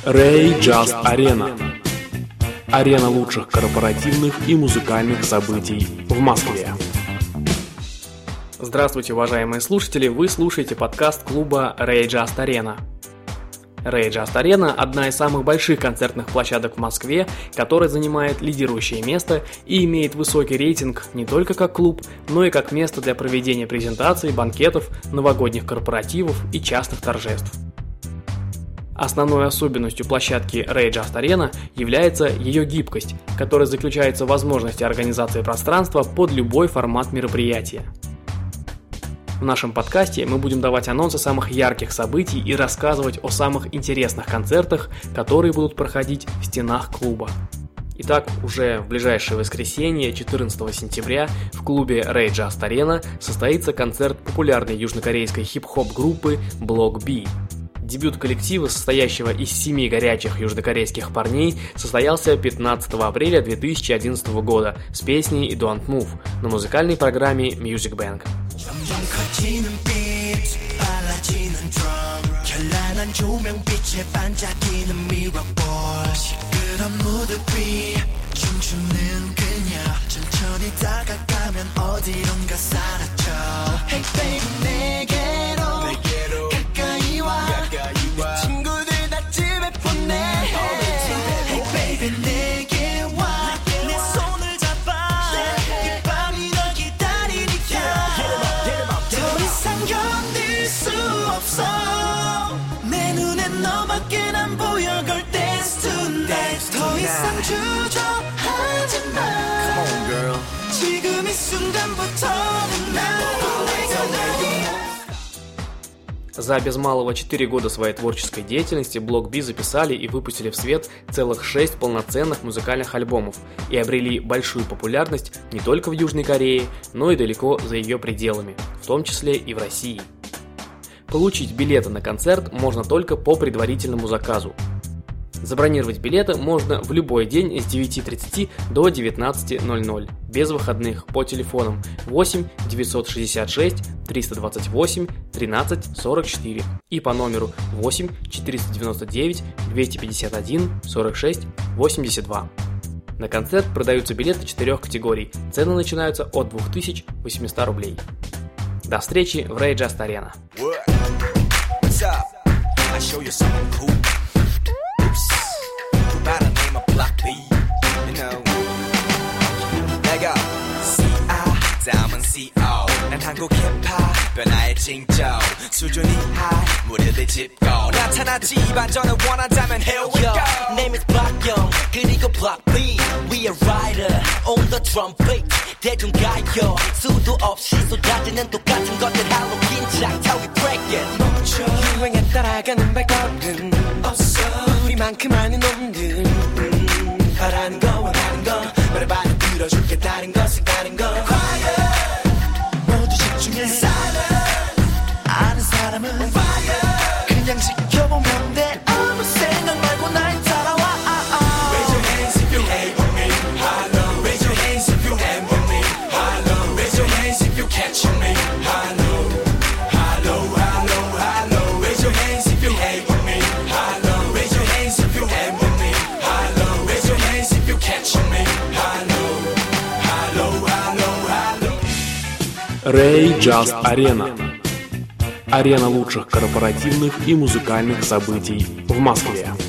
Ray Just Arena. Арена лучших корпоративных и музыкальных событий в Москве. Здравствуйте, уважаемые слушатели! Вы слушаете подкаст клуба Ray Just Arena. Ray Just Arena – одна из самых больших концертных площадок в Москве, которая занимает лидирующее место и имеет высокий рейтинг не только как клуб, но и как место для проведения презентаций, банкетов, новогодних корпоративов и частных торжеств. Основной особенностью площадки Ray Just Arena является ее гибкость, которая заключается в возможности организации пространства под любой формат мероприятия. В нашем подкасте мы будем давать анонсы самых ярких событий и рассказывать о самых интересных концертах, которые будут проходить в стенах клуба. Итак, уже в ближайшее воскресенье, 14 сентября, в клубе Ray Just Arena состоится концерт популярной южнокорейской хип-хоп группы Block B. Дебют коллектива, состоящего из 7 горячих южнокорейских парней, состоялся 15 апреля 2011 года с песней Don't Move на музыкальной программе Music Bank. За без малого 4 года своей творческой деятельности Block B записали и выпустили в свет целых 6 полноценных музыкальных альбомов и обрели большую популярность не только в Южной Корее, но и далеко за ее пределами, в том числе и в России. Получить билеты на концерт можно только по предварительному заказу. Забронировать билеты можно в любой день с 9:30 до 19:00, без выходных, по телефонам 8 966 328 13 44 и по номеру 8 499 251 46 82. На концерт продаются билеты 4 категорий, цены начинаются от 2800 рублей. До встречи в Ray Just Arena. By the name of Block B, you know. 내가 C.I. 다음은 C.O. 난 한국 힙합 변화의 징조 수준이 high 무대들 짚고 나타나지 반전을 원한다면 here we go. Name is Block Young 그리고 Block B. We a rider on the trumpet 대중가요 수도 없이 쏟아지는 똑같은 것들 할로 긴장 타위 break it 멈춰 유행에 따라가는 발걸음 없어 우리만큼 아는 놈들 바라는 거 원하는 거 말해봐도 들어줄게 다른 것은 다른 거 Quiet 모두 집중해 Silent 아는 사람은 Fire 그냥 지켜보면 돼 아무 생각 말고 날 따라와 Raise your hands if you hate with me Hello Raise your hands if you am with me Hello Raise your hands if you catch me Hello Hello Hello Hello Raise your hands if you hate with me Hello Raise your hands if you am with me Hello Raise your hands if you catch me Hello Hello Hello Hello Ray Just Arena. Арена лучших корпоративных и музыкальных событий в Москве.